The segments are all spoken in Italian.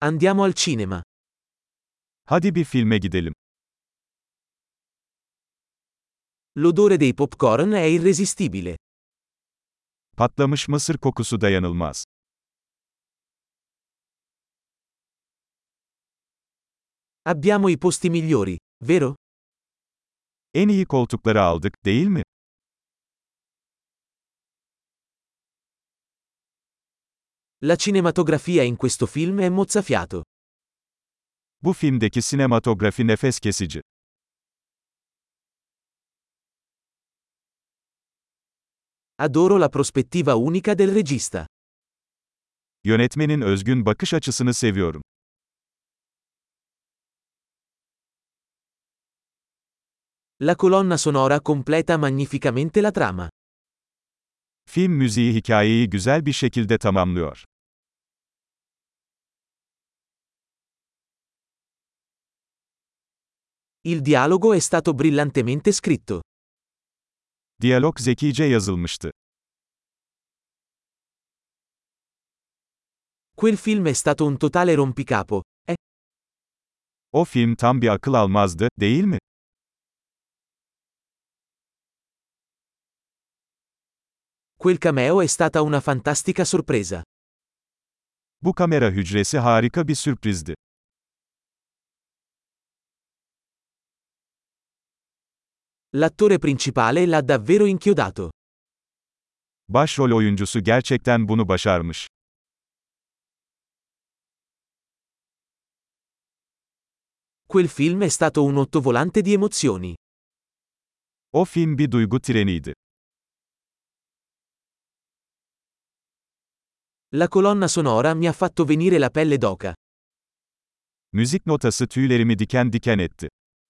Andiamo al cinema. Hadi bir filme gidelim. L'odore dei popcorn è irresistibile. Patlamış mısır kokusu dayanılmaz. Abbiamo i posti migliori, vero? En iyi koltukları aldık, değil mi? La cinematografia in questo film è mozzafiato. Bu filmdeki sinematografi nefes kesici. Adoro la prospettiva unica del regista. Yönetmenin özgün bakış açısını seviyorum. La colonna sonora completa magnificamente la trama. Film müziği hikayeyi güzel bir şekilde tamamlıyor. Il dialogo è stato brillantemente scritto. Diyalog zekice yazılmıştı. Quel film è stato un totale rompicapo, eh? O film tam bir akıl almazdı, değil mi? Quel cameo è stata una fantastica sorpresa. Bu kamera hücresi harika bir sürprizdi. L'attore principale l'ha davvero inchiodato. Başrol oyuncusu gerçekten bunu başarmış. Quel film è stato un ottovolante di emozioni. O film bir duygu treniydi. La colonna sonora mi ha fatto venire la pelle d'oca. Müzik notası tüylerimi diken diken etti.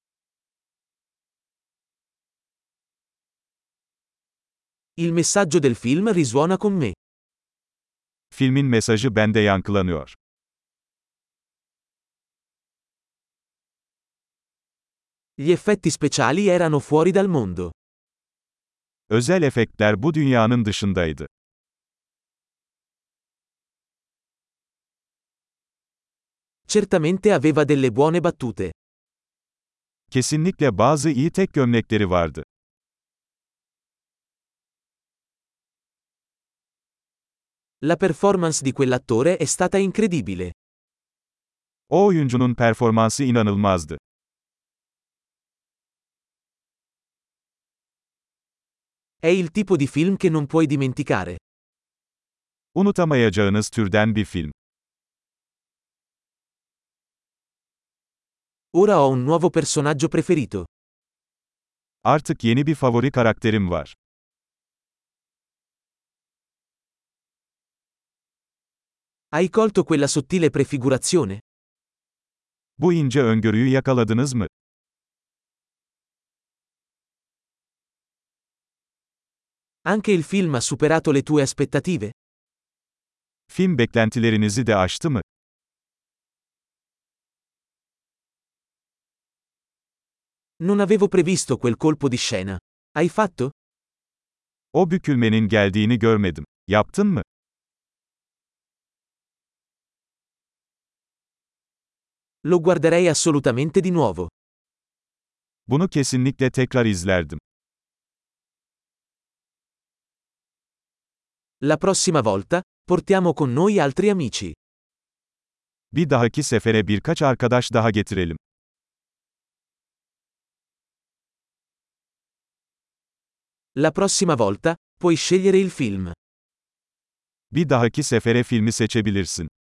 Il messaggio del film risuona con me. Filmin mesajı bende yankılanıyor. Gli effetti speciali erano fuori dal mondo. Özel efektler bu dünyanın dışındaydı. Certamente aveva delle buone battute. Kesinlikle bazı iyi tek gömlekleri vardı. La performance di quell'attore è stata incredibile. O oyuncunun performansı inanılmazdı. È il tipo di film che non puoi dimenticare. Unutamayacağınız türden bir film. Ora ho un nuovo personaggio preferito. Artık yeni bir favori karakterim var. Hai colto quella sottile prefigurazione? Bu ince öngörüyü yakaladınız mı? Anche il film ha superato le tue aspettative? Film beklentilerinizi de aştı mı? Non avevo previsto quel colpo di scena. Hai fatto? O bükülmenin geldiğini görmedim. Yaptın mı? Lo guarderei assolutamente di nuovo. Bunu kesinlikle tekrar izlerdim. La prossima volta, portiamo con noi altri amici. Bir dahaki sefere birkaç arkadaş daha getirelim. La prossima volta, puoi scegliere il film. Bir dahaki sefere filmi seçebilirsin.